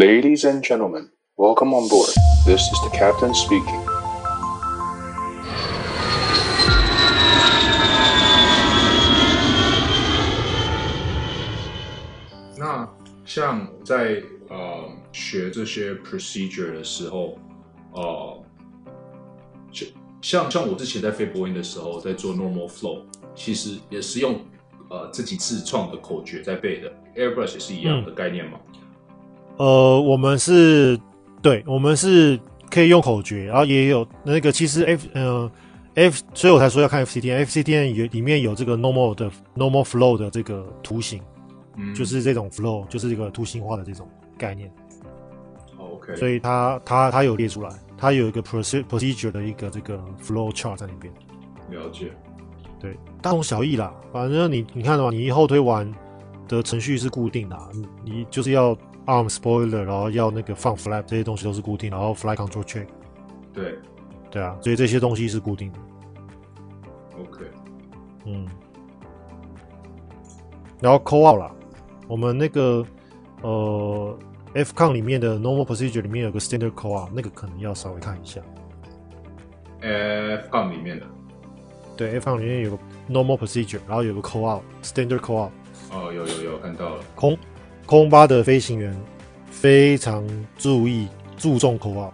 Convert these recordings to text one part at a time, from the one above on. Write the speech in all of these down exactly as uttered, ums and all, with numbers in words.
Ladies and gentlemen, welcome on board. This is the captain speaking. 那像在呃學這些 procedure 的時候，呃，像像我之前在飛波音的時候，在做 normal flow， 其實也是用呃自己自創的口訣在背的。Airbrush 也是一樣的概念嗎？嗯呃，我們是，對，我們是可以用口訣，然後也有那個，其實 F 呃 F， 所以我才說要看 F C T N，F C T N 也裡面有這個 normal 的 normal flow 的這個圖形，嗯，就是這種 flow， 就是這個圖形化的這種概念。 Oh, OK， 所以它它它有列出來，它有一個 procedure 的一個這個 flow chart 在裡邊。 了解，對， 大同小異啦，反正你你看的話，你後推完的程序是固定的，你你就是要。arm spoiler， 然後要那個放 flap， 這些東西都是固定，然後 flight control check， 對， 對啊，所以這些東西是固定的。 OK， 嗯，然後 call out 啦，我們那個呃 F C O N 裡面的 normal procedure 裡面有個 standard call out， 那個可能要稍微看一下。 F C O N 裡面的， 對 ，F C O N 裡面有個 normal procedure， 然後有個 call out standard call out。 哦，有有有看到了， 空。空巴的飛行員非常注意注重 call out。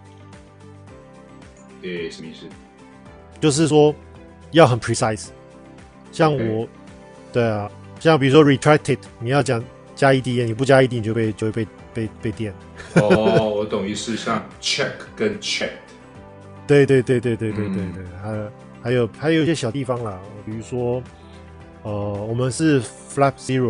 誒，什麼意思？ 就是說要很 precise。像我，okay. 對啊，像比如說 retracted， 你要講加 E D， 你不加 E D 你就被就會被被被電。 哦，我懂意思，像 check 跟 check。 對對對對對對對對，還、嗯、還有還有一些小地方啦，比如說，呃，我們是 flap zero。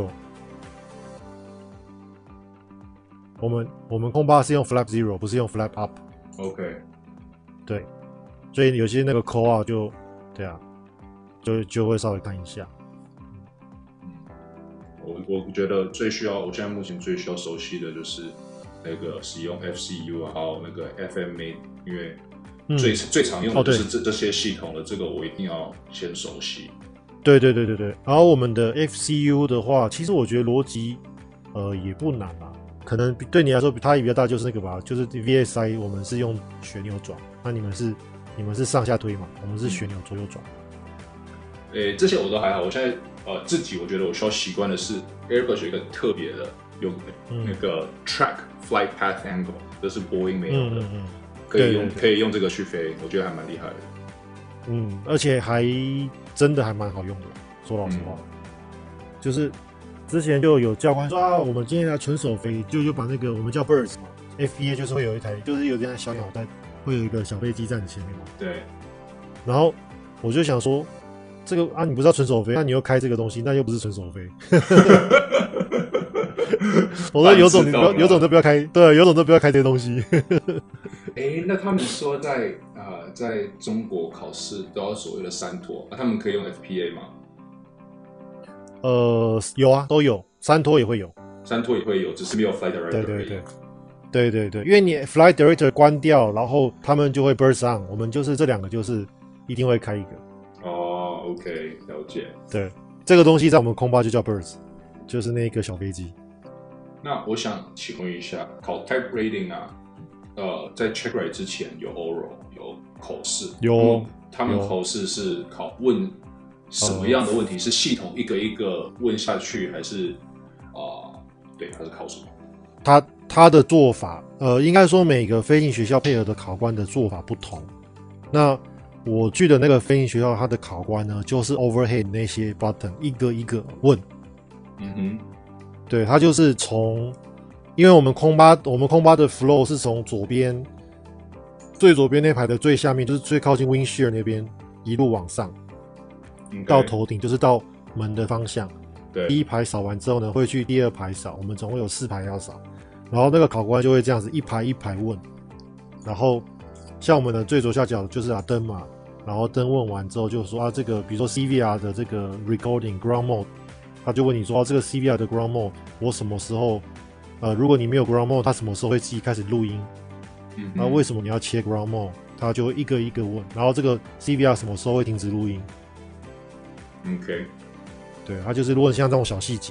我們我們空巴是用 flap zero， 不是用 flap up。OK， 對，所以有些那個 call out 就，對啊，就就會稍微看一下。 嗯，我我覺得最需要，我現在目前最需要熟悉的就是那個使用 F C U 啊，還有那個 F M A， 因為最、嗯、最常用的就是這、哦、這些系統的這個，我一定要先熟悉。對對對對對，然後我們的 F C U 的話，其實我覺得邏輯呃也不難啊。可能對你來說，差異比較大就是那個吧，就是 V S I 我們是用旋鈕轉，那你們是你們是上下推嘛，我們是旋鈕左右轉。誒、 嗯欸，這些我都還好。我現在呃自己我覺得我需要習慣的是 Airbrush 有一個特別的，有那個 track flight path angle，這是波音沒有的，嗯嗯嗯可以用對對對可以用這個去飛，我覺得還蠻厲害的。 嗯，而且還真的還蠻好用的，說老實話，嗯、就是。之前就有教官說啊，我們今天來純手飛，就就把那個我們叫 birds 嘛 ，F B A 就是會有一台，就是有這樣小鳥蛋，會有一個小飛機在你前面嘛。 對。 然後我就想說，這個啊，你不是要純手飛，那你又開這個東西，那又不是純手飛。我說有種你不要，有種都不要開，對，有種都不要開這些東西。 哎、欸，那他們說在啊、呃，在中國考試都要所謂的三托，啊，他們可以用 F P A 嗎？ 呃，有啊，都有，三托也會有， 三托也會有，只是沒有 flight director。對對對， 對對對，因為你 flight director 關掉，然後他們就會 burst on， 我們就是這兩個就是一定會開一個。 哦 ，OK， 了解。 對，這個東西在我們空巴就叫 burst， 就是那個小飛機。 那我想請問一下，考 type rating 啊，呃，在 check ride 之前有 oral 有口試， 有， 他們口試是考問。什麼樣的問題、嗯、是系統一個一個問下去，還是啊、呃？對，還是考什麼？ 他他的做法，呃，應該說每個飛行學校配合的考官的做法不同。那我去的那個飛行學校，他的考官呢，就是 overhead 那些 button 一個一個問。 嗯哼， 對，他就是從，因為我們空巴，我們空巴的 flow 是從左邊最左邊那排的最下面，就是最靠近 windshield 那邊一路往上。Okay. 到頭頂就是到門的方向， 對， 第一排掃完之後呢，會去第二排掃，我們總共有四排要掃，然後那個考官就會這樣子一排一排問，然後像我們的最左下角就是啊燈嘛，然後燈問完之後就說啊這個比如說 C V R 的這個 recording ground mode， 他就問你說啊這個 C V R 的 ground mode 我什麼時候呃如果你沒有 ground mode， 他什麼時候會自己開始錄音？嗯，然後為什麼你要切 ground mode？ 他就會一個一個問，然後這個 C V R 什麼時候會停止錄音？ OK， 對，他就是如果像這種小細節，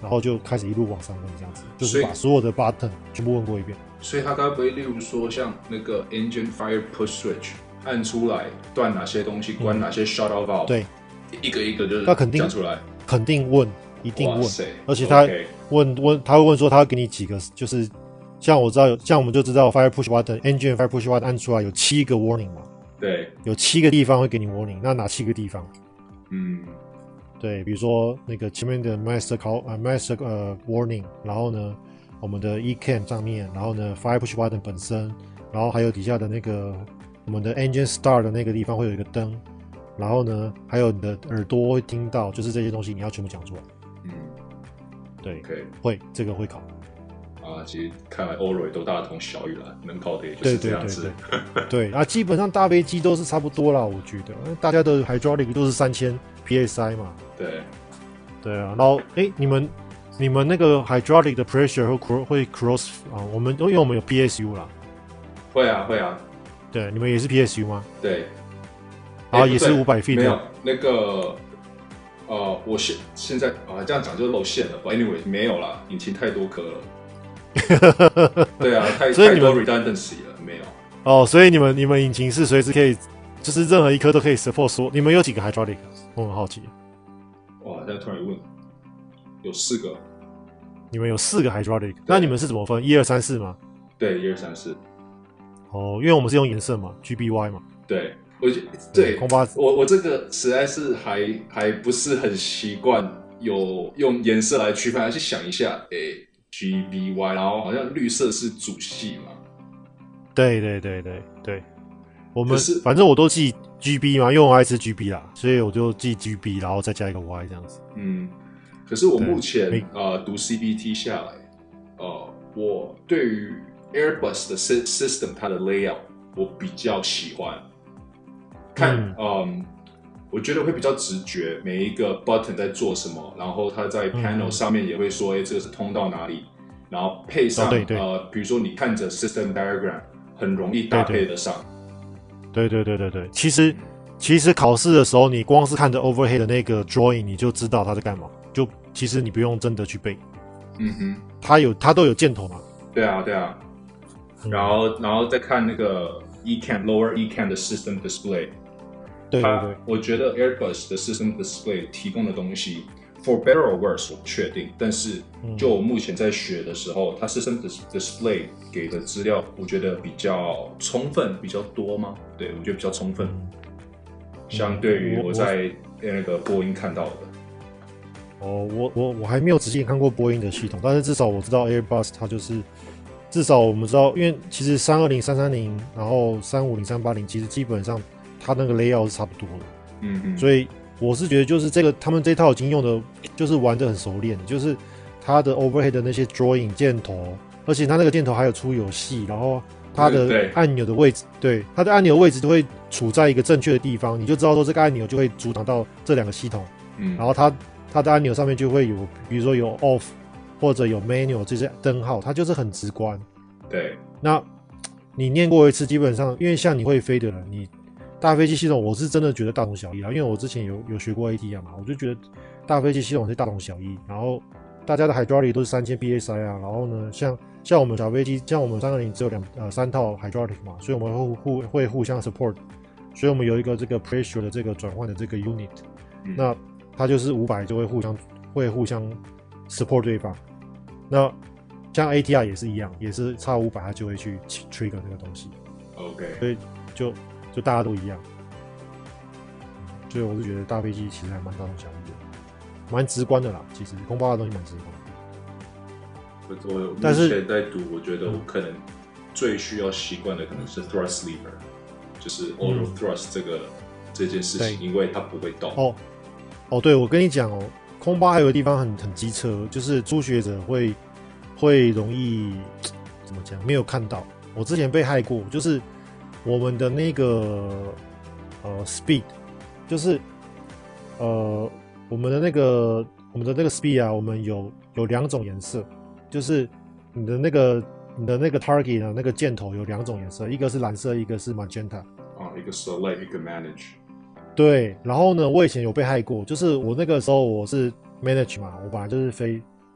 然後就開始一路往上問這樣子，就是把所有的 button 全部問過一遍。 所以他該不會例如說像那個 engine fire push switch 按出來斷哪些東西，關哪些 shut off valve，對，一個一個就是他肯定講出來， 肯定問，一定問，而且他問問他會問說他會給你幾個，就是像我知道有像我們就知道 fire push button engine fire push button 按出來有七個 warning 嘛， 對， 有七個地方會給你 warning， 那哪七個地方？ 嗯。 對，比如說那個前面的 master call 呃 master 呃 warning， 然後呢，我們的 E C A M 上面，然後呢 fire push button 本身，然後還有底下的那個我們的 engine start 的那個地方會有一個燈，然後呢，還有你的耳朵會聽到，就是這些東西你要全部講出來。嗯，對， okay. 會這個會考。 啊，其實看來歐瑞都大同小異了，能考的也就是這樣子。 對對對對，對啊，基本上大飛機都是差不多啦，我覺得大家的 hydraulic 都是三千 P S I 嘛。 對， 對啊，然後哎，你們你們那個 hydraulic 的 pressure 會會 cross 啊？我們因為我們有 P S U 啦。 會啊會啊。 對，你們也是 P S U 嗎？ 對。 然後也是五百 feet。 沒有那個，呃，我現現在啊這樣講就露餡了。But anyway， 沒有啦，引擎太多顆了。對啊，太太多 redundancy 了，沒有。哦， 所以你們你們引擎是隨時可以，就是任何一顆都可以 support 說。你們有幾個 hydraulic？ 我很好奇。 哇，現在突然問，有四個。 你們有四個 hydraulic， 那你們是怎麼分？一二三四嗎？ 對，一二三四。 哦，因為我們是用顏色嘛 ，G B Y 嘛。 對，我覺對，空巴我我這個實在是還還不是很習慣有用顏色來區分，還是想一下，哎、欸。G B Y， 然後好像綠色是主系嘛？ 對對對對對，我們反正我都記 G B 嘛，因為我愛吃 G B 啦，所以我就記 G B， 然後再加一個 Y 這樣子。 嗯，可是我目前呃讀 C B T 下來，呃，我對於 Airbus 的 system 它的 layout 我比較喜歡，看嗯。嗯我覺得會比較直覺，每一個 button 在做什麼，然後它在 panel 上面也會說，哎、嗯，這個是通到哪裡，然後配上、哦、對對呃，比如說你看着 system diagram， 很容易搭配得上。對對對對對， 其實其實考試的時候，你光是看着 overhead 的那個 drawing， 你就知道它在幹嘛，就其實你不用真的去背。嗯哼，它有它都有箭頭嘛。 對啊對啊，嗯、然後然後再看那個 E C A M lower E C A M 的 system display。 對對對， 我覺得 Airbus 的 System Display 提供的東西 ，for better or worse 我不確定，但是就我目前在學的時候，嗯、它 System Display 給的資料，我覺得比較充分，比較多嗎？對，我覺得比較充分，嗯、相對於我在那個波音看到的。 哦，我我我還沒有仔細看過波音的系統，但是至少我知道 Airbus 它就是，至少我們知道，因為其實三二零、三三零，然後三五零、三八零，其實基本上。它那個 layout 是差不多的，嗯嗯，所以我是覺得就是這個他們這套已經用的，就是玩得很熟練，就是它的 overhead 的那些 drawing 箭頭，而且它那個箭頭還有出有細，然後它的按鈕的位置，對，對，它的按鈕位置都會處在一個正確的地方，你就知道說這個按鈕就會阻擋到這兩個系統，嗯，然後它它的按鈕上面就會有，比如說有 off 或者有 manual 這些燈號，它就是很直觀， 對， 那你念過一次，基本上因為像你會飛的人，你大飛機系統我是真的覺得大同小異啦，因為我之前有有學過 A T R 嘛，我就覺得大飛機系統是大同小異。然後大家的 hydraulic 都是三千 P S I 啊，然後呢，像像我們小飛機，像我們三二零只有兩呃三套 hydraulic 嘛，所以我們會互會互相 support， 所以我們有一個這個 pressure 的這個轉換的這個 unit，、嗯、那它就是五百就會互相會互相 support 對方。那像 A T R 也是一樣，也是差五百它就會去 trigger 那個東西。 OK， 所以就。就大家都一樣，所以我是覺得大飛機其實還蠻大同小異的，蠻直觀的啦。其實空巴的東西蠻直觀的。 我目前在讀，我覺得我可能最需要習慣的可能是 thrust lever，、嗯、就是 auto thrust 這個、嗯、這件事情，因為它不會動。哦哦，對，我跟你講哦，空巴還有個地方很很機車，就是初學者會會容易怎麼講？沒有看到，我之前被害過，就是。我們的那個呃 speed， 就是呃我們的那個我們的那個 speed 啊，我們有有兩種顏色，就是你的那個你的那個 target 的那個箭頭有兩種顏色，一個是藍色，一個是 magenta。啊，一個 select， 一個 manage。對，然後呢，我以前有被害過，就是我那個時候我是 manage 嘛，我本來就是飛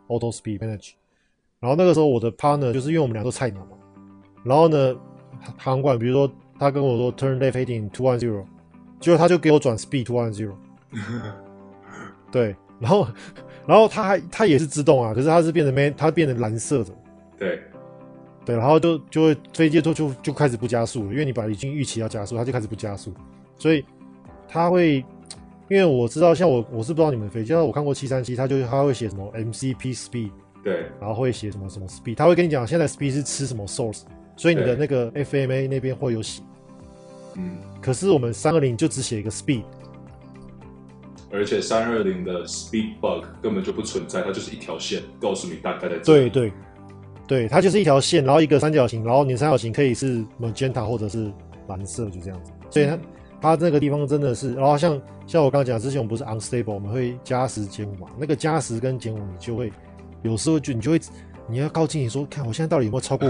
auto speed manage。然後那個時候我的 partner 就是因為我們倆都菜鳥嘛，然後呢，航管比如說他跟我說 turn left heading two one zero， 結果他就給我轉 speed two one zero。對，然後然後他還他也是自動啊，可是他是變成 man， 他變成藍色的。 對。 對，然後就就會飛機就就就開始不加速了，因為你本來已經預期要加速，它就開始不加速，所以它會，因為我知道，像我我是不知道你們飛機，像我看過七三七，它就它會寫什麼 M C P speed， 對，然後會寫什麼什麼 speed， 它會跟你講現在 speed 是吃什麼 source， 所以你的那個 F M A 那邊會有寫，嗯，可是我們三二零就只寫一個 speed， 而且三二零的 speed bug 根本就不存在，它就是一條線告訴你大概在這裡。 對對。對，它就是一條線，然後一個三角形，然後你的三角形可以是 magenta 或者是藍色，就這樣子。所以它它那個地方真的是，然後像像我剛剛講，之前我們不是 unstable， 我們會加十減五嘛，那個加十跟減五，你就會有時候就你就會你要靠近你說，看我現在到底有沒有超過五？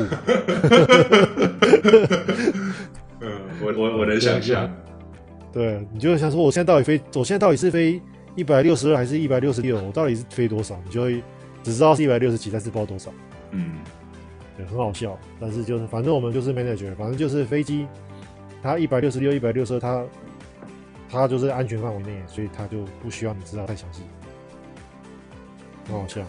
嗯，我我我能想象。 對，你就會想說，我現在到底飛，我現在到底是飛一百六十二還是一百六十六？我到底是飛多少？你就會只知道是一百六十幾，但是不知道多少。嗯，对，很好笑，但是就是反正我們就是 manager， 反正就是飛機，它一百六十六、一百六十二，它它就是安全範圍內，所以它就不需要你知道太詳細，很好笑。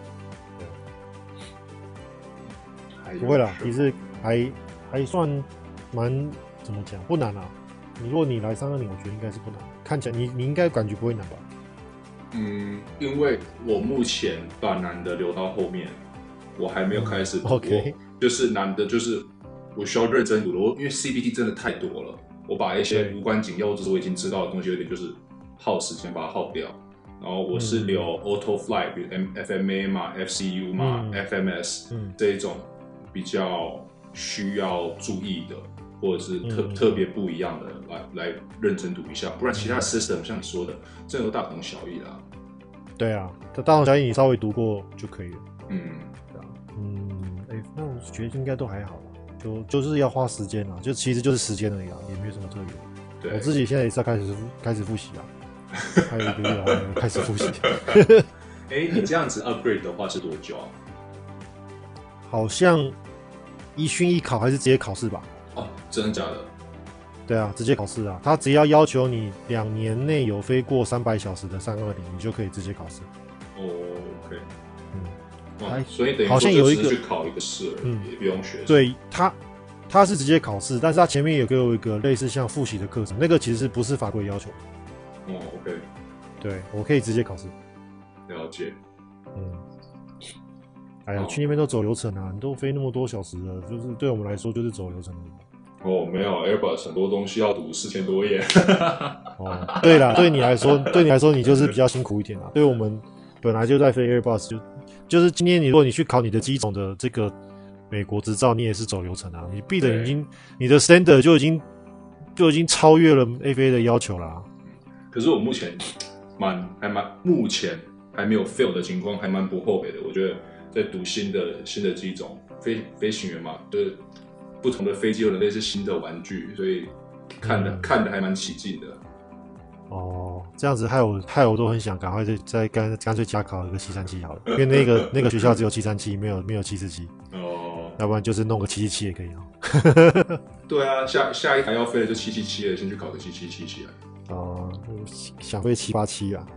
對，不會啦，其實還還算蠻怎麼講，不難啊。你如果你來三二零，我覺得應該是不難，看起來你你應該感覺不會難吧？嗯， 因為我目前把難的留到後面。我還沒有開始讀過、 okay. 就是難的，就是我需要認真讀的。我因為 C B T 真的太多了，我把一些無關緊要或者是我已經知道的東西，有點就是耗時間把它耗掉。然後我是留 Auto Flight， 比如 F M A 嘛、F C U 嘛、嗯、F M S、嗯、這一種比較需要注意的，或者是特、嗯、特別不一樣的，來來認真讀一下。不然其他 system、嗯、像你說的，真的都大同小異啦。 對啊，它大同小異，你稍微讀過就可以了。 嗯。 嗯，哎、欸，那我覺得應該都還好，就就是要花時間啊，就其實就是時間而已啊，也沒有什麼特別。對，我自己現在也是要開始開始複習啊，還有一個月還沒開始複習。 哎、欸，你這樣子 upgrade 的話是多久啊？ 好像一訓一考還是直接考試吧？ 哦，真的假的？ 对啊，直接考試啊，他只要要求你兩年內有飛過三百小時的三二零，你就可以直接考試。 哦 ，OK。 還所以等於好像有一個去考一個試，嗯，也不用學。 對，他他是直接考試，但是他前面有給我一個類似像複習的課程，那個其實不是法規要求。 哦 ，OK。 對，我可以直接考試。 了解。 嗯。哎呀，哦、去那邊都走流程啊，你都飛那麼多小時了，就是對我們來說就是走流程。 哦，沒有 Airbus 很多東西要讀四千多頁。 哦，對啦，對你來說，對你來說你就是比較辛苦一點啦。對我們本來就在飛 Airbus 就。就是今天，你如果你去考你的機種的這個美國執照，你也是走流程啊。你 B 的已經，你的 standard 就已經就已經超越了 F A 的要求啦、啊。 可是我目前蠻還蠻目前還沒有 fail 的情況，還蠻不後悔的。我覺得在讀新的新的機種，飛飛行員嘛，就是不同的飛機有點類似新的玩具，所以看的、嗯、看的還蠻起勁的。 哦，這樣子害我害我都很想趕快再再乾乾脆加考一個七三七好了，因為那個那個學校只有七三七，沒有沒有七四七。哦，要不然就是弄個七七七也可以哦。對啊，下下一台要飛的就七七七了，先去考個七七七起來。 哦，想飛七八七啊。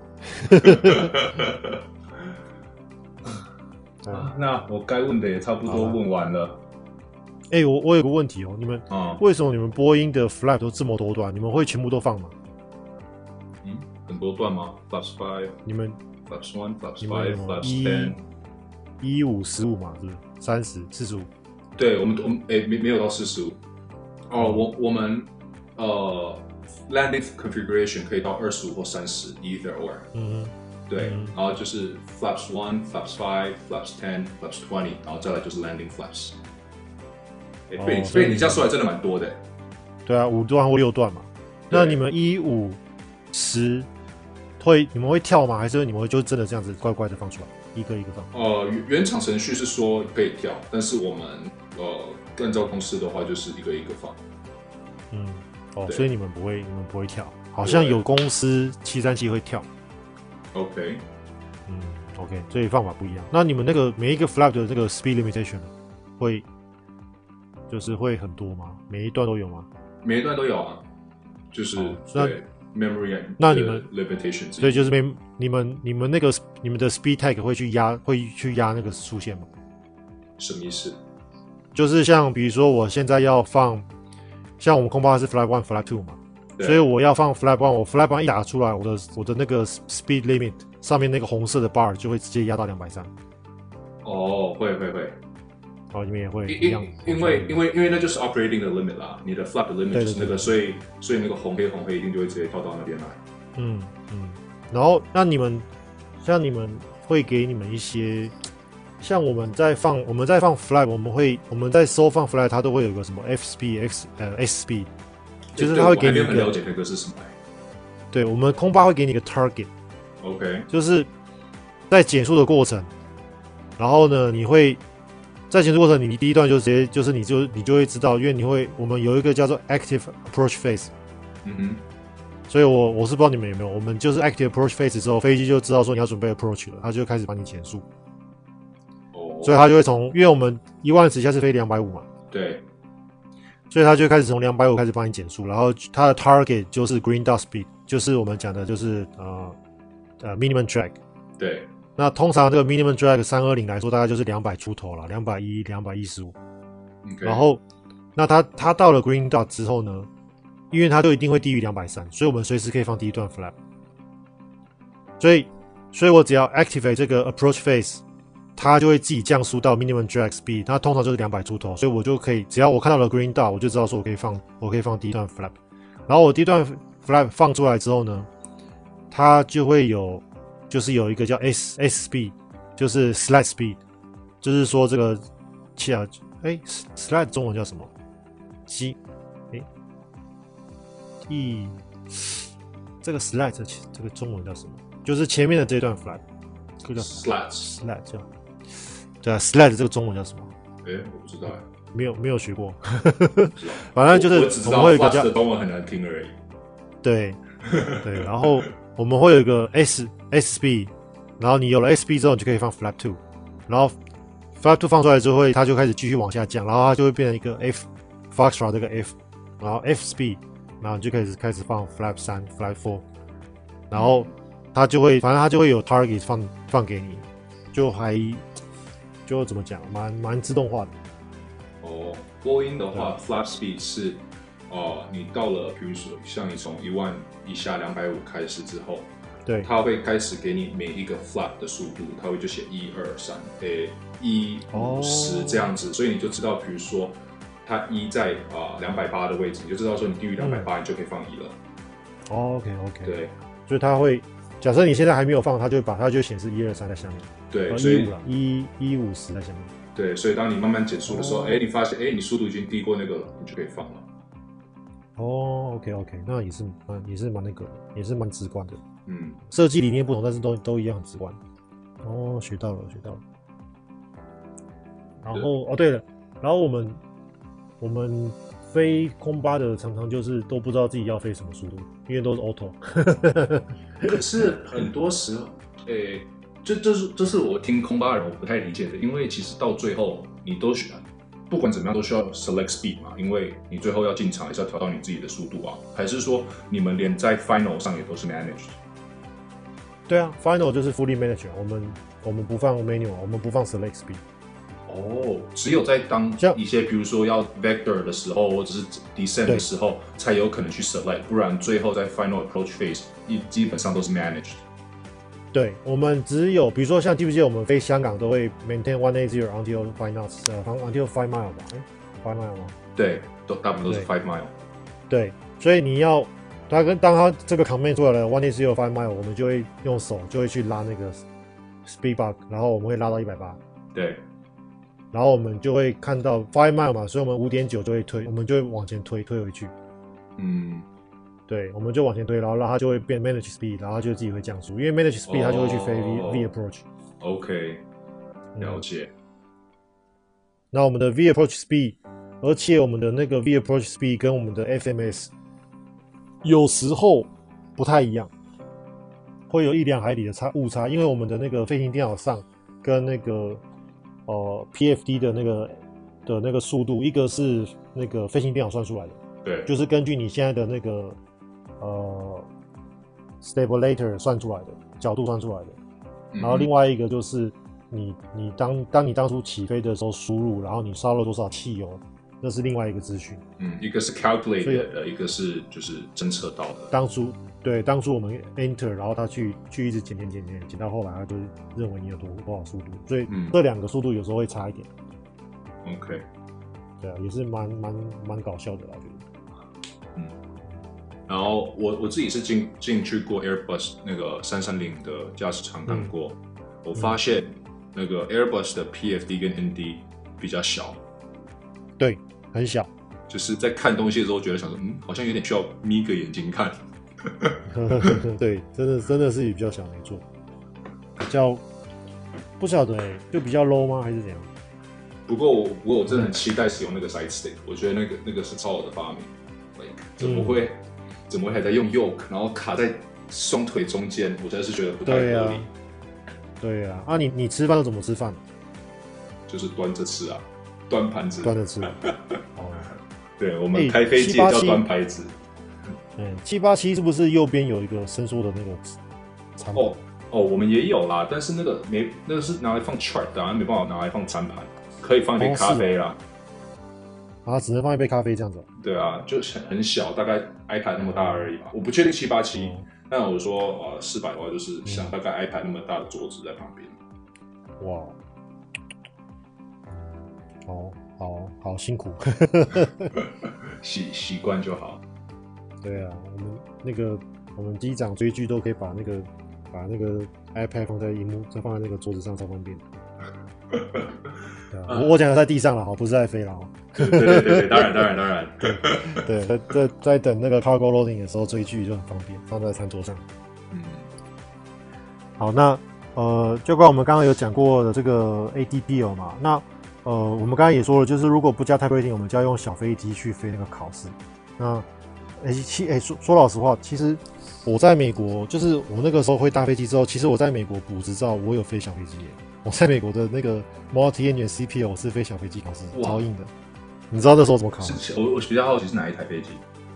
啊，那我該問的也差不多問完了。 哎、欸，我我有個問題哦，你們、嗯、為什麼你們波音的 flap 都這麼多段？你們會全部都放嗎？ 很多段嗎 ？Flaps five， 你們 Flaps one Flaps five Flaps ten， 一五十五嘛，是不是？三十四十五？ 對，我們我們哎、欸、沒沒有到四十五。哦，我我們呃 landing configuration 可以到二十五或三十 either or。嗯哼。對、嗯，然後就是 Flaps one Flaps five Flaps ten Flaps twenty， 然後再來就是 landing flaps。哎、欸，被、哦、被你這樣說來真的蠻多的。 對啊，五段或六段嘛。那你們一五十？會你們會跳嗎？還是你們會就真的這樣子乖乖的放出來，一個一個放？ 呃，原廠程序是說可以跳，但是我們呃按照公司的話就是一個一個放。 嗯，哦，所以你們不會，你們不會跳，好像有公司七三七會跳。 OK， 嗯， OK， 所以方法不一樣。那你們那個每一個 flap 的這個 speed limitation 會就是會很多嗎？每一段都有嗎？ 每一段都有啊，就是、哦、對 memory and 那你們 limitation， 所以就是沒你們你們那個你們的 speed tag 會去壓會去壓那個速限嗎？ 什麼意思？ 就是像比如說我現在要放，像我們空巴是 flap one flap two 嘛，所以我要放 flap one， 我 flap one 一打出來，我的我的那個 speed limit 上面那個紅色的 bar 就會直接壓到兩百三。 哦，會會會。 哦，你們也會一樣，因為因為因為那就是 operating 的 limit 啦，你的 flap 的 limit 就是那個，所以所以那個紅黑紅黑一定就會直接跳到那邊來。 嗯嗯，然後那你們像你們會給你們一些。像我們在放我們在放 flap， 我們會我們在收放 flap， 它都會有一個什麼 F speed X 呃 S speed， 就是它會給你一個。我還沒有很了解那個是什麼。 對，我們空巴會給你一個 target。OK。就是在減速的過程，然後呢，你會在減速過程，你第一段就直接就是你就你就會知道，因為你會我們有一個叫做 active approach phase。嗯哼。所以我我是不知道你們有沒有，我們就是 active approach phase 之後，飛機就知道說你要準備 approach 了，它就開始幫你減速。所以它就會從，因為我們一萬尺下是飛兩百五嘛， 對， 所以它就開始從兩百五開始幫你減速，然後它的 target 就是 green dot speed， 就是我們講的就是呃呃 minimum drag， 對， 那通常這個 minimum drag 三二零來說大概就是兩百出頭了，兩百一、兩百一十五，然後那它它到了 green dot 之後呢，因為它就一定會低於兩百三，所以我們隨時可以放第一段 flap， 所以所以我只要 activate 這個 approach phase。它就會自己降速到 minimum drag speed， 它通常就是兩百出頭，所以我就可以，只要我看到了 green dot， 我就知道說我可以放，我可以放第一段 flap。然後我第一段 flap 放出來之後呢，它就會有，就是有一個叫 S S speed， 就是 slide speed， 就是說這個，切啊，哎 ，slide 中文叫什麼？機，哎，一，這個 slide 這這個中文叫什麼？就是前面的這段 flap， 這個叫 slide，slide 叫。對啊 ，slide 這個中文叫什麼？ 哎、欸，我不知道， 沒有沒有學過。反正就是我們會有一個叫， 我中文很難聽而已。 對對，然後我們會有一個 S S speed， 然後你有了 S speed 之後，你就可以放 flap two， 然後 flap two 放出來之後，它就開始繼續往下降，然後它就會變成一個 F Foxtrot 這個 F， 然後 F speed， 然後你就開始開始放 flap three flap four， 然後它就會反正它就會有 target 放放給你，就還。就怎麼講，蠻蠻自動化的。 哦，波音的話 ，flap speed 是，哦、呃，你到了，比如說像你從一萬以下兩百五開始之後， 對， 它會開始給你每一個 flap 的速度，它會就寫一二三，誒，一五十這樣子，所以你就知道，比如說它一在啊兩百八的位置，你就知道說你低於兩百八，你就可以放一了。 哦 ，OK OK， 對， 所以它會。假設你現在還沒有放，它就會把它就顯示一二三在下面， 對，所以一一五十在下面， 對，所以當你慢慢減速的時候，哎、哦，你發現哎，你速度已經低過那個了，你就可以放了。 哦 ，OK OK， 那也是蠻也是蠻那個，也是蠻直觀的。 嗯， 設計理念不同，但是都都一樣很直觀。哦，學到了，學到了。然後哦，對了，然後我們我們飛空巴的常常就是都不知道自己要飛什麼速度，因為都是 auto。 可是很多時候，誒、欸，這這是這是我聽空巴的人我不太理解的，因為其實到最後你都需要，不管怎麼樣都需要 select speed 嘛，因為你最後要進場也是要調到你自己的速度啊，還是說你們連在 final 上也都是 managed？ 對啊 ，final 就是 fully managed， 我們我們不放 manual， 我們不放 select speed。 哦，只有在當一些比如說要 vector 的時候，或者是 descent 的時候，才有可能去 select， 不然最後在 final approach phase 基本上都是 managed。 對，我們只有比如說像記不記得我們飛香港都會 maintain one eighty until five knots， 呃 until five mile 吧？哎 ，five mile 嗎？對， 都大部分都是 five mile。 對，所以你要它跟當它這個 command 出來了 one eighty five mile， 我們就會用手就會去拉那個 speed bar， 然後我們會拉到一百八。 對。 然後我們就會看到 five mile 嘛，所以我們五點九就會推，我們就會往前推，推回去。嗯，對，我們就往前推，然後讓它就會變 manage speed， 然後它就自己會降速，因為 manage speed 它就會去飛 V、oh, V approach。OK， 了解。 那我們的 V approach speed， 而且我們的那個 V approach speed 跟我們的 F M S 有時候不太一樣。 會有一兩海里的差誤差，因為我們的那個飛行電腦上跟那個呃 P F D 的那個的那個速度，一個是那個飛行電腦算出來的， 對， 就是根據你現在的那個呃 stabilizer 算出來的角度算出來的， 嗯、 然後另外一個就是你你當當你當初起飛的時候輸入，然後你燒了多少汽油，那是另外一個資訊。 嗯，一個是 calculated 的，一個是就是偵測到的。當初對，當初我們 enter， 然後他去去一直減減減減減到後來，他就認為你有多多少速度，所以這兩個速度有時候會差一點。 OK， 對啊，也是蠻蠻蠻搞笑的啦，我覺得。 嗯，然後我我自己是進進去過 Airbus 那個三三零的駕駛艙看過，嗯、我發現那個 Airbus 的 P F D 跟 N D 比較小， 對，很小， 就是在看東西的時候覺得想說，嗯，好像有點需要眯個眼睛看。 對，真的真的是比較小，沒錯，比較不曉得哎、欸，就比較 low 嗎，還是怎樣？ 不過我不過我真的很期待使用那個 side stick，我覺得那個那個是超好的發明。Like, 怎麼會、嗯、怎麼會還在用 yoke，然後卡在雙腿中間？我真的是覺得不太合理。對啊， 對啊，啊你你吃飯都怎麼吃飯？ 就是端着吃啊，端盤子。 端着吃。哦， 對，我們開飛機也叫端盤子。 嗯，七八七是不是右邊有一個伸縮的那個餐盤？ 哦哦，我們也有啦，但是那個沒，那個是拿來放 chart 的、啊，沒辦法拿來放餐盤，可以放一杯咖啡啦。 哦、啊，只能放一杯咖啡這樣子。對啊，就很小，大概 iPad 那麼大而已吧。我不確定七八七，但我說呃四百的話，就是像大概 iPad 那麼大的桌子在旁邊。哇， 好好好辛苦， 習習慣就好。 對啊，我們那個我們機長追劇都可以把那個把那個 iPad 放在熒幕，再放在那個桌子上，超方便。對啊，嗯、我我講的在地上了哈，不是在飛了哈。 對對對對，當然當然當然。 對對，在在在等那個 cargo loading 的時候追劇就很方便，放在餐桌上。嗯。好，那呃，就關我們剛剛有講過的這個 A D P L 嘛，那呃，我們剛剛也說了，就是如果不加 type rating，我們就要用小飛機去飛那個考試。那哎，其哎說說老實話，其實我在美國，就是我那個時候會搭飛機之後，其實我在美國補執照，我有飛小飛機耶。我在美國的那個 multi-engine C P L 我是飛小飛機考試，超硬的。你知道那時候怎麼考嗎？ 我我比較好奇是哪一台飛機？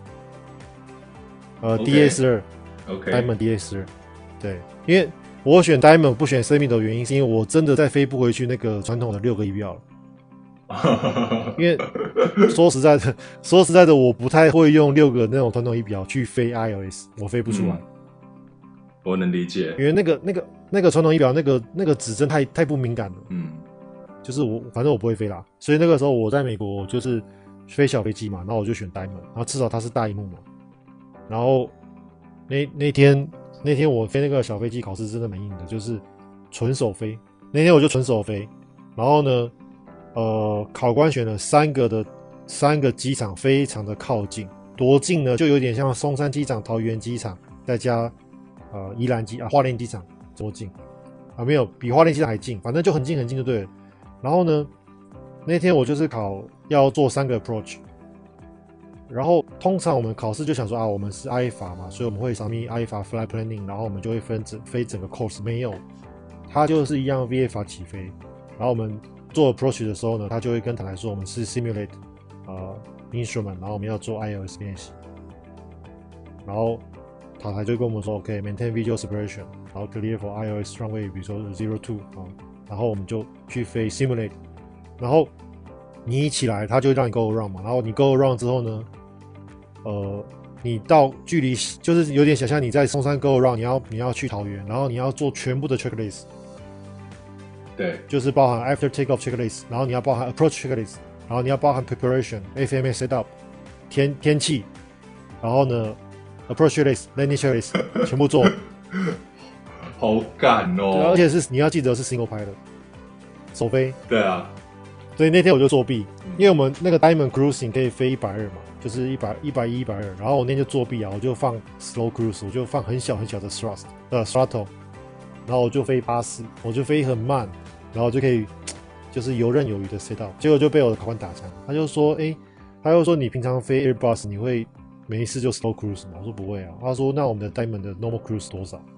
呃 ，D A 十二 ，OK，Diamond D A 十二。對，因為我選 Diamond 不選 Semi 的原因，是因為我真的再飛不回去那個傳統的六個儀表了。因為說實在的，說實在的，我不太會用六個那種傳統儀表去飛 I O S， 我飛不出來。嗯、 我能理解， 因為那個那個那個傳統儀表那個那個指針太太不敏感了。嗯，就是我反正我不會飛啦，所以那個時候我在美國就是飛小飛機嘛，然後我就選 Diamond， 然後至少它是大螢幕嘛。然後那那天那天我飛那個小飛機考試真的蠻硬的，就是純手飛。那天我就純手飛，然後呢。呃，考官選了三個的三個機場，非常的靠近，多近呢？就有點像松山機場、桃園機場，再加呃宜蘭機啊花蓮機場多近啊？沒有，比花蓮機場還近，反正就很近很近就對了。然後呢，那天我就是考要做三個 approach， 然後通常我們考試就想說啊，我們是 I F A 嘛，所以我們會 submit I F A flight planning， 然後我們就會分整飛整個 course， 沒有，它就是一樣 V F A 起飛，然後我們。做 approach 的時候呢，他就會跟塔台說我們是 simulate 呃 instrument， 然後我們要做 I O S 練習，然後塔台就跟我們說 OK maintain visual separation， 然後 clear for I O S runway， 比如說 zero two 啊，然後我們就去飛 simulate， 然後你一起來，他就讓你 go around 嘛，然後你 go around 之後呢，呃，你到距離就是有點想象你在松山 go around， 你要你要去桃園，然後你要做全部的 checklist。 對， 就是包含 after takeoff checklist， 然後你要包含 approach checklist， 然後你要包含 preparation、F M S setup、天天氣，然後呢 approach checklist、landing checklist 全部做， 好趕哦！ 對，而且是你要記得是 single pilot， 首飛。 對啊， 所以那天我就作弊，因為我們那個 Diamond cruising 可以飛一百二嘛，就是一百、一百一、一百二，然後我那天就作弊啊，我就放 slow cruise， 我就放很小很小的 thrust， 呃 throttle， 然後我就飛八十，我就飛很慢。然後就可以，就是游刃有餘的 set up， 結果就被我的考官打槍，他就說，哎，他就說你平常飛 Airbus 你會沒事就 slow cruise 嗎？我說不會啊，他說那我們的 Diamond 的 normal cruise 多少？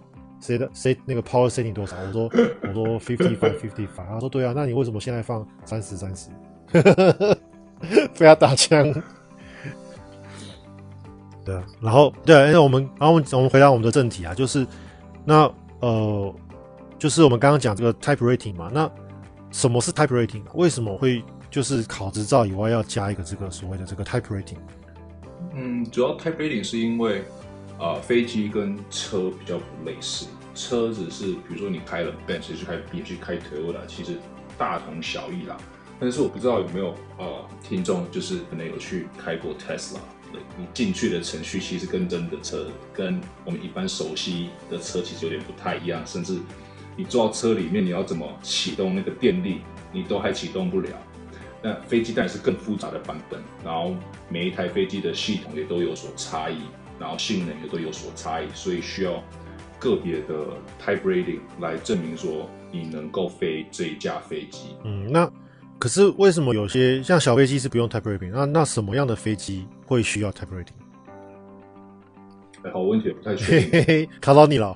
誰的誰那個 power setting 多少？我說我說 fifty five fifty five， 他說對啊，那你為什麼現在放三十三十？被他打槍。對啊，然後對啊，那我們然後我們我們回到我們的正題啊，就是那呃，就是我們剛剛講這個 type rating 嘛，那什麼是 type rating？ 為什麼會就是考執照以外要加一個這個所謂的這個 type rating？ 嗯，主要 type rating 是因為啊、呃，飛機跟車比較不類似，車子是比如說你開了 Benz 去開 B M 去開 Toyota，其實大同小異啦。但是我不知道有沒有呃聽眾就是可能有去開過 Tesla。你進去的程序其實跟真的車，跟我們一般熟悉的車其實有點不太一樣，甚至你坐到車裡面，你要怎麼啟動那個電力，你都還啟動不了。那飛機當然是更複雜的版本，然後每一台飛機的系統也都有所差異，然後性能也都有所差異，所以需要個別的 type rating 來證明說你能夠飛這一架飛機。 嗯，那。可是為什麼有些像小飛機是不用 type rating？ 那那什麼樣的飛機會需要 type rating？ 哎，好問題，不太確定。 嘿嘿，考到你了。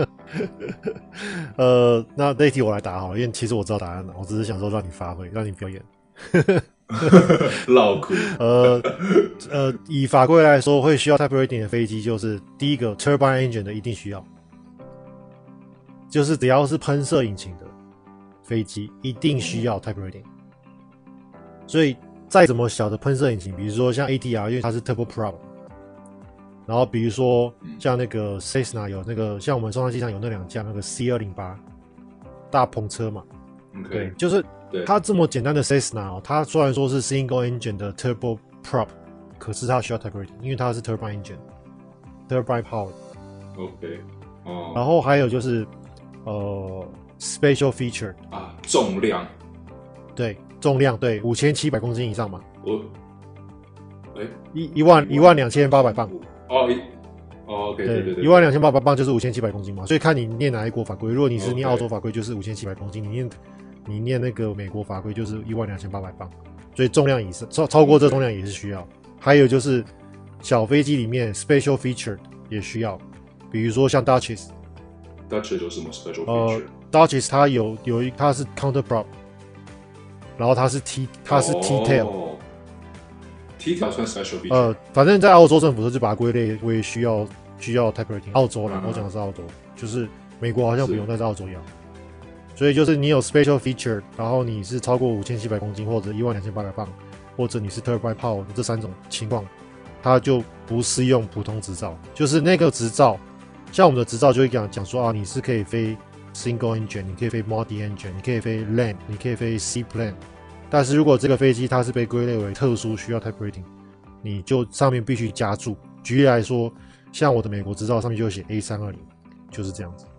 呃，那這一題我來答好了，因為其實我知道答案了，我只是想說讓你發揮，讓你表演。 老苦。 呃呃，以法規來說，會需要 type rating 的飛機就是第一個 turbine engine 的一定需要，就是只要是噴射引擎的飛機一定需要 type rating。所以再怎麼小的噴射引擎，比如說像 A T R， 因為它是 turboprop， 然後比如說像那個 Cessna 有那個，像我們松山機場有那兩架那個 C 二零八 大篷車嘛， okay, 對，就是它這麼簡單的 Cessna 哦，它雖然說是 single engine 的 turboprop， 可是它需要 type rating， 因為它是 turbine engine，turbine power。OK， 哦。然後還有就是呃 special feature 啊，重量， 對。重量对五千七百公斤以上嘛？ 我，哎、欸， 一一萬一萬兩千八百磅。 哦，一，哦 ，OK， 对对对， 一萬兩千八百磅就是五千七百公斤嘛。所以看你念哪一國法規，如果你是念澳洲法規，就是五千七百公斤；你念你念那個美國法規，就是一萬兩千八百磅。所以重量以上超超過這重量也是需要。還有就是小飛機裡面 special feature 也需要，比如說像 Duchess。Duchess 有什麼 special feature？ 呃 ，Duchess 它有有一它是 counter prop。然後它是 T， 它是 T tail，T tail 算 special feature。 呃，反正在澳洲政府是把它歸類為需要需要 type rating。澳洲啦，嗯、我講的是澳洲，就是美國好像不用，但是澳洲要。所以就是你有 special feature， 然後你是超過五千七百公斤或者一萬兩千八百磅，或者你是 turbine power 這三種情況，它就不適用普通執照。就是那個執照，像我們的執照就會講講說啊，你是可以飛。Single engine， 你可以飛 multi engine， 你可以飛 land， 你可以飛 seaplane。但是如果這個飛機它是被歸類為特殊需要 type rating， 你就上面必須加注。舉例來說，像我的美國執照上面就會寫 A 三二零，就是這樣子。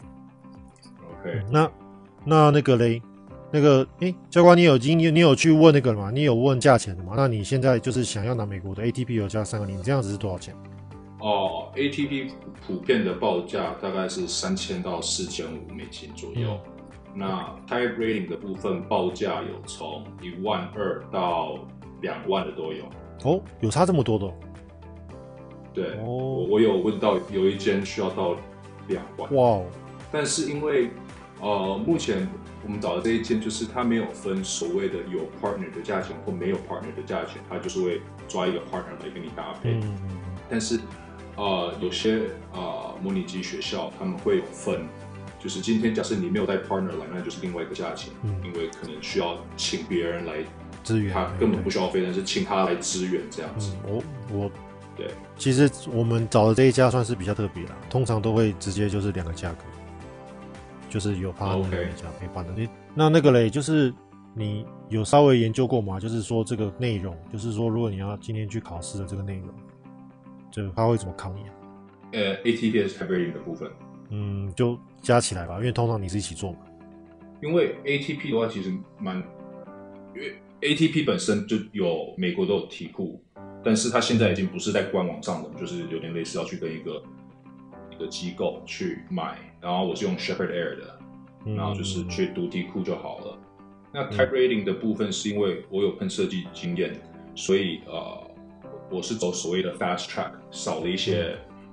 OK，、 嗯、那那那個嘞，那個誒，教官你有經你你有去問那個嗎？你有問價錢的嗎？那你現在就是想要拿美國的 A T P 有加三二零，這樣子是多少錢？ 哦 ，A T P 普遍的報價大概是三千到四千五美金左右。嗯、那 type rating 的部分報價有從一萬二到兩萬的都有。 哦，有差這麼多的、哦？ 對，哦、我我有問到有一間需要到兩萬。哇哦！但是因為呃，目前我們找的這一間就是它沒有分所謂的有 partner 的價錢或沒有 partner 的價錢，它就是會抓一個 partner 來跟你搭配。嗯、但是呃，有些呃模擬機學校他們會有分，就是今天假設你沒有帶 partner 來，那就是另外一個價錢，嗯、因為可能需要請別人來支援，他根本不需要飛，但是請他來支援這樣子。 嗯、我我對， 其實我們找的這一家算是比較特別啦，通常都會直接就是兩個價格，就是有 partner 的加沒 partner。那那個嘞，就是你有稍微研究過嗎？就是說這個內容，就是說如果你要今天去考試的這個內容。就他會怎麼考你、啊？ 呃 ，A T P 是 type rating 的部分， 嗯，就加起來吧，因為通常你是一起做嘛。 因為 A T P 的話其實蠻，因為 A T P 本身就有美國都有題庫，但是它現在已經不是在官網上的，就是有點類似要去跟一個一個機構去買，然後我是用 Shepherd Air 的，嗯、然後就是去讀題庫就好了。那 type rating 的部分是因為我有噴射機經驗，所以呃。我是走所謂的 fast track， 少了一些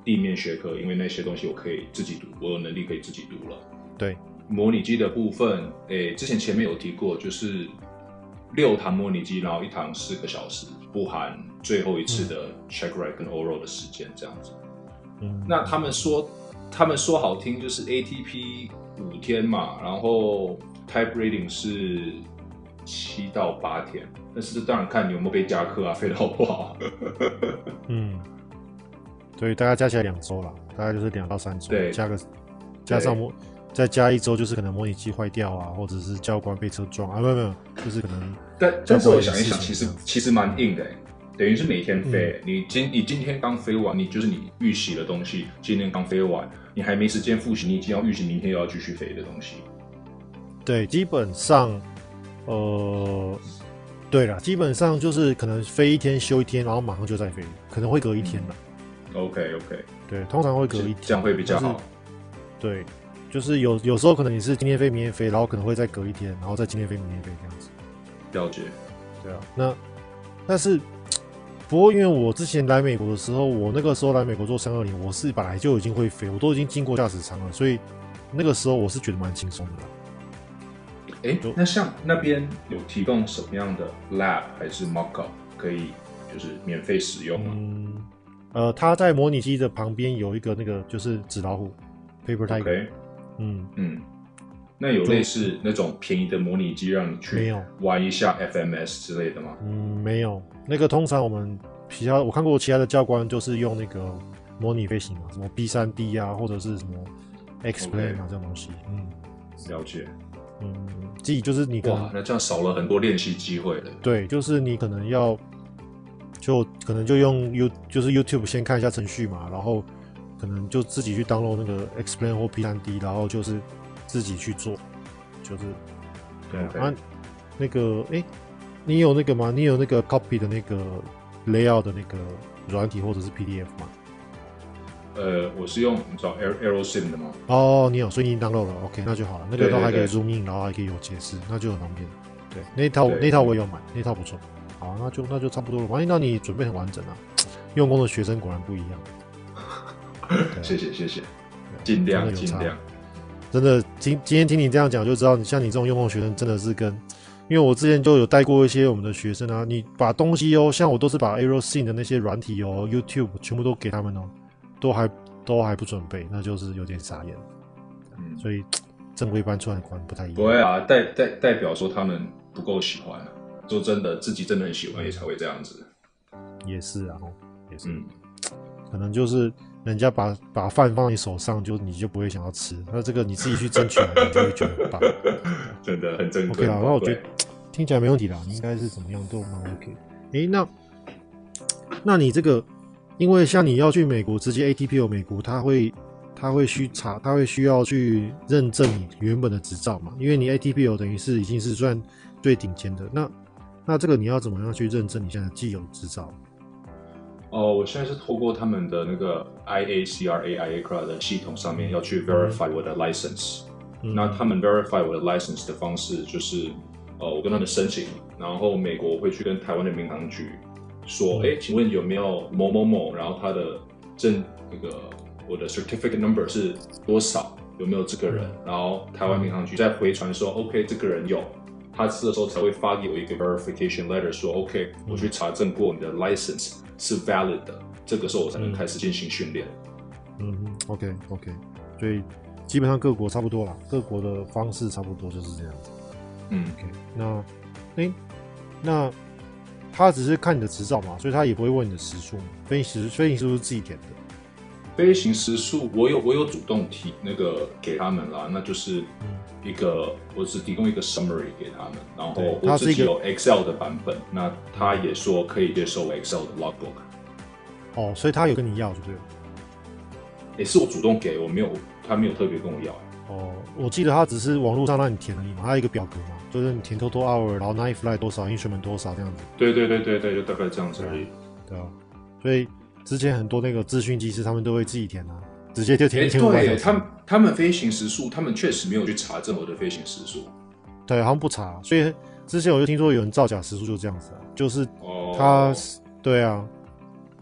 地面學科，因為那些東西我可以自己讀，我有能力可以自己讀了。 對， 模擬機的部分，誒，之前前面有提過，就是六堂模擬機，然後一堂四個小時，不含最後一次的 check write 跟 oral 的時間這樣子。嗯，那他們說，他們說好聽就是 A T P 五天嘛，然後 type rating 是七到八天，但是這當然看你有沒有被加課啊，飛得好不好。嗯， 所以大概加起來兩周啦，大概就是兩到三周， 對， 加個加上模再加一周，就是可能模擬機壞掉啊，或者是教官被車撞啊，沒有沒有，就是可能。 但但是我想一想，其實其實蠻硬的，等於是每天飛。嗯、你今你今天剛飛完，你就是你預習的東西，今天剛飛完，你還沒時間複習，你已經要預習明天又要繼續飛的東西。對，基本上，呃，對啦，基本上就是可能飛一天休一天，然後馬上就再飛，可能會隔一天啦。嗯、OK OK， 對，通常會隔一天， 這樣會比較好。 對。就是有有時候可能你是今天飛明天飛，然後可能會再隔一天，然後再今天飛明天飛這樣子。 了解。 對啊，那但是不過因為我之前來美國的時候，我那個時候來美國做三二零，我是本來就已經會飛，我都已經經過駕駛艙了，所以那個時候我是覺得蠻輕鬆的啦。 哎、欸，那像那邊有提供什麼樣的 lab 還是 mock-up 可以就是免費使用嗎？ 嗯，呃，它在模擬機的旁邊有一個那個就是紙老虎 Paper Tiger。Okay. 嗯嗯， 那有類似那種便宜的模擬機讓你去玩一下 F M S 之類的嗎？ 嗯，沒有。那個通常我們其他我看過其他的教官就是用那個模擬飛行嘛，什麼 B 三 D 啊，或者是什麼 X-Plane 啊、okay. 這種東西。嗯， 了解。 嗯，自己就是你可能哇，那這樣少了很多練習機會了。 對，就是你可能要就可能就用 U 就是 YouTube 先看一下程序嘛，然後。可能就自己去 download 那個 X-Plane 或 P 三 D， 然後就是自己去做，就是對啊。Okay. 啊那個哎、欸，你有那個嗎？你有那個 copy 的那個 layout 的那個軟體或者是 P D F 嗎？ 呃，我是用你知道 Aerosim 的嗎？ 哦，你有，所以你 download 了 ，OK， 那就好了。那個都還可以 zoom in，然後還可以有解釋，那就很方便。對，那一套那一套我也有買，那一套不錯。好，那就那就差不多了。反正那你準備很完整啊，用功的學生果然不一樣。 謝謝謝謝，盡量盡量。 真的，今今天聽你這樣講，就知道像你這種用功學生真的是跟，因為我之前就有帶過一些我們的學生啊，你把東西哦，像我都是把 Aerosim 的那些軟體哦 ，YouTube 全部都給他們哦，都還都還不準備，那就是有點傻眼。嗯，所以正規班、出來班不太一樣。 不會啊，代代代表說他們不夠喜歡，說真的，自己真的很喜歡也才會這樣子。 也是啊，也是，嗯、可能就是。人家把把飯放在你手上，就你就不會想要吃。那這個你自己去爭取，你就會覺得很棒。 真的很珍貴。 OK 啦，那我覺得聽起來沒問題啦，應該是怎麼樣都蠻 OK。哎、欸，那那你這個，因為像你要去美國，直接 A T P O 美國，他會他會需查，他會需要去認證你原本的執照嘛？因為你 A T P O 等於是已經是算最頂尖的。那那這個你要怎麼樣去認證你現在既有執照？ 哦，我現在是透過他們的那個 I A C R A I A C R A 的系統上面要去 verify 我的 license。嗯、那他們 verify 我的 license 的方式就是，呃，我跟他們申請，然後美國會去跟台灣的民航局說，哎、嗯，請問有沒有某某某，然後他的證那個我的 certificate number 是多少，有沒有這個人？嗯、然後台灣民航局再回傳說、嗯、，OK， 這個人有，他這個時候才會發給我一個 verification letter 說 ，OK，、嗯、我去查證過你的 license。是 valid 的，這個時候我才能開始進行訓練。 嗯嗯 ，OK OK，所以基本上各國差不多啦，各國的方式差不多就是這樣子。嗯 ，OK，那哎、欸，那他只是看你的執照嘛，所以他也不會問你的時數嘛。飛行時飛行時數是自己填的。 飛行時數我有我有主動提那個給他們啦，那就是一個、嗯、我只提供一個 summary 給他們，然後我自己有 Excel 的版本，那他也說可以接受 Excel 的 logbook。哦， 所以他有跟你要就對了。 也、欸、是我主動給，我沒有，他沒有特別跟我要。 哦，我記得他只是網絡上讓你填而已嘛，他有一個表格嘛，就是你填 total hour，然後 night flight 多少 instrument 多少這樣子。 對對對對對，就大概這樣子而已。 對啊，所以。之前很多那個資訊機師他們都會自己填啊，直接就填一千五百小時。對，他們他們飛行時數，他們確實沒有去查證我的飛行時數。 對，好像不查。所以之前我就聽說有人造假時數，就這樣子啊，就是他，哦、對啊，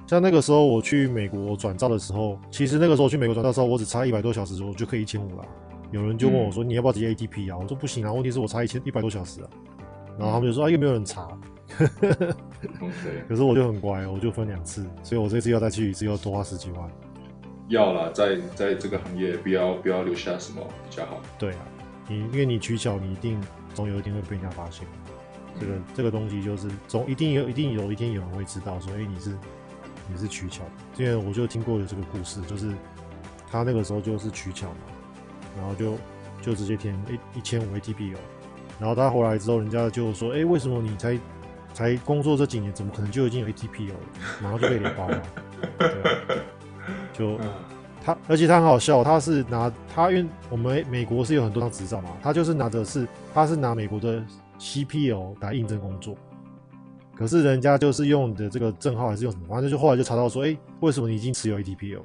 像那個時候我去美國轉照的時候，其實那個時候我去美國轉照的時候，我只差一百多小時，我就可以一千五了。有人就問我說：“你要不要直接 A T P 啊？”我說：“不行啊，問題是我差一千一百多小時啊。”然後他們就說：“啊，又沒有人查。”可是我就很乖，我就分兩次，所以我這次要再去一次，要多花十幾萬。 要啦，在在這個行業不要不要留下什麼比較好。對啊， 你因為你取巧，你一定總有一天會被人家發現。這個這個東西就是總一定有一定有一天有人會知道說，哎，你是你是取巧的。因為我就聽過有這個故事，就是他那個時候就是取巧嘛，然後就就直接填一一千五 A T P 哦，然後他回來之後，人家就說，哎，為什麼你才才工作這幾年，怎麼可能就已經有 A T P 了？然後就被連包了。對啊，就他，而且他很好笑，他是拿他因為我們美國是有很多張執照嘛，他就是拿的是他是拿美國的 C P L 來應徵工作，可是人家就是用你的這個證號還是用什麼，反正就後來就查到說，哎，為什麼你已經持有 A T P 了？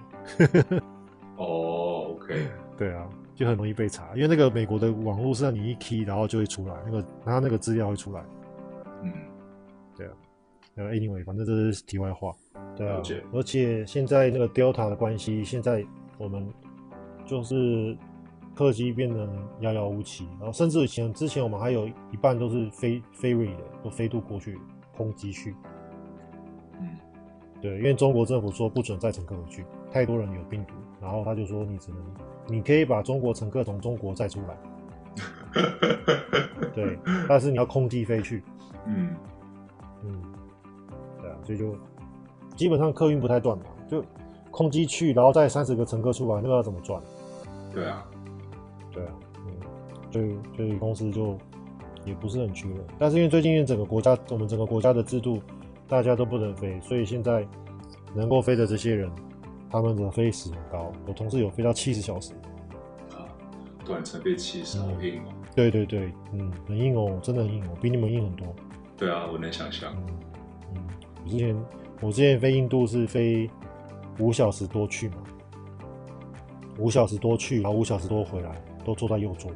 哦 ，OK， 對啊，就很容易被查，因為那個美國的網絡是讓你一 key 然後就會出來，那個然後那個資料會出來，嗯，對啊，呃 ，anyway， 反正這是題外話。對啊，而且現在那個 Delta 的關係，現在我們就是客機變得遙遙無期，然後甚至以前之前我們還有一半都是飛 ferry 的，都飛渡過去空機去。嗯，對，因為中國政府說不准載乘客回去，太多人有病毒，然後他就說你只能，你可以把中國乘客從中國載出來，對，但是你要空機飛去。嗯嗯，對啊，所以就。基本上客運不太斷嘛，就空機去，然後再三十個乘客出來，那個要怎麼賺？ 對啊， 對啊，嗯，所以所以公司就也不是很缺人，但是因為最近整個國家，我們整個國家的制度，大家都不能飛，所以現在能夠飛的這些人，他們的飛時很高。我同事有飛到七十小時， 啊，短程飛七十，好硬哦。 對對對，嗯，很硬哦，真的很硬哦，比你們硬很多。 對啊，我能想象。 嗯嗯，我之前。我之前飛印度是飛五小時多去嘛，五小時多去，然後五小時多回來，都坐在右座。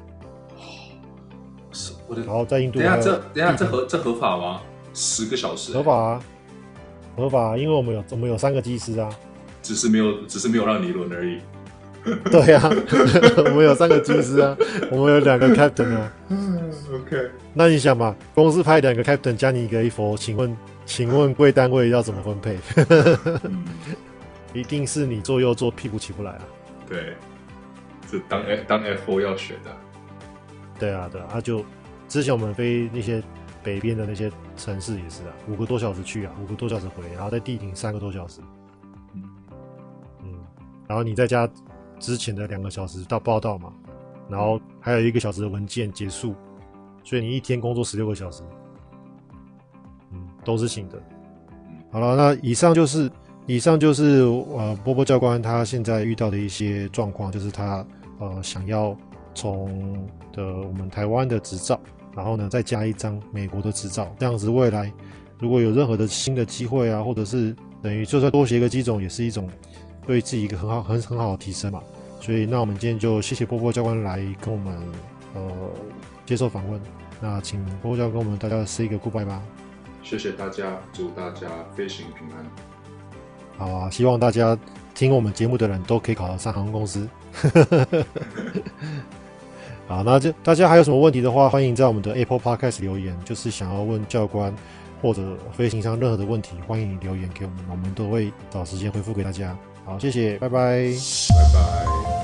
是，我的。 然後在印度， 等一下這等一下這合這合法嗎？十個小時、欸？ 合法啊，合法、啊，因為我們有我們有三個機師啊， 只是沒有只是沒有讓你輪而已。 對啊，我們有三個機師啊，我們有兩個 captain 啊。 嗯 ，OK。 那你想嘛，公司派兩個 captain 加你一個 A 佛，請問？請問貴單位要怎麼分配？嗯、一定是你坐右坐屁股起不來啊！ 對，是當 F 當 F 四 要選的。對啊，對啊，啊就之前我們飛那些北邊的那些城市也是啊，五個多小時去啊，五個多小時回，然後在地停三個多小時。嗯嗯，然後你再加之前的兩個小時到報到嘛，然後還有一個小時的文件結束，所以你一天工作十六個小時。都是行的。好了，那以上就是以上就是呃波波教官他現在遇到的一些狀況，就是他呃想要從的我們台灣的執照，然後呢再加一張美國的執照，這樣子未來如果有任何的新的機會啊，或者是等於就算多學一個機種，也是一種對自己一個很好很很好的提升嘛。所以那我們今天就謝謝波波教官來跟我們呃接受訪問，那請波波教官跟我們大家 say 一個 goodbye 吧。 謝謝大家，祝大家飛行平安。 好啊，希望大家聽我們節目的人都可以考得上航空公司。好，那就大家還有什麼問題的話，歡迎在我們的 Apple Podcast 留言，就是想要問教官或者飛行上任何的問題，歡迎留言給我們，我們都會找時間回復給大家。好，謝謝，拜拜， 拜拜。